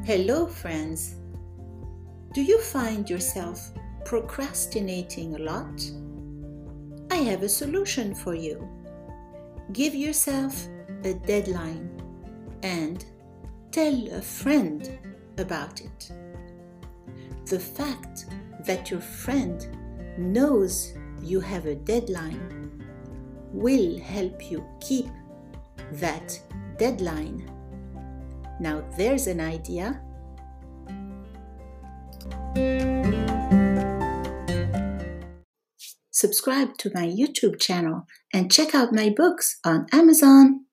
Hello, friends. Do you find yourself procrastinating a lot? I have a solution for you. Give yourself a deadline and tell a friend about it. The fact that your friend knows you have a deadline will help you keep that deadline. Now there's an idea. Subscribe to my YouTube channel and check out my books on Amazon.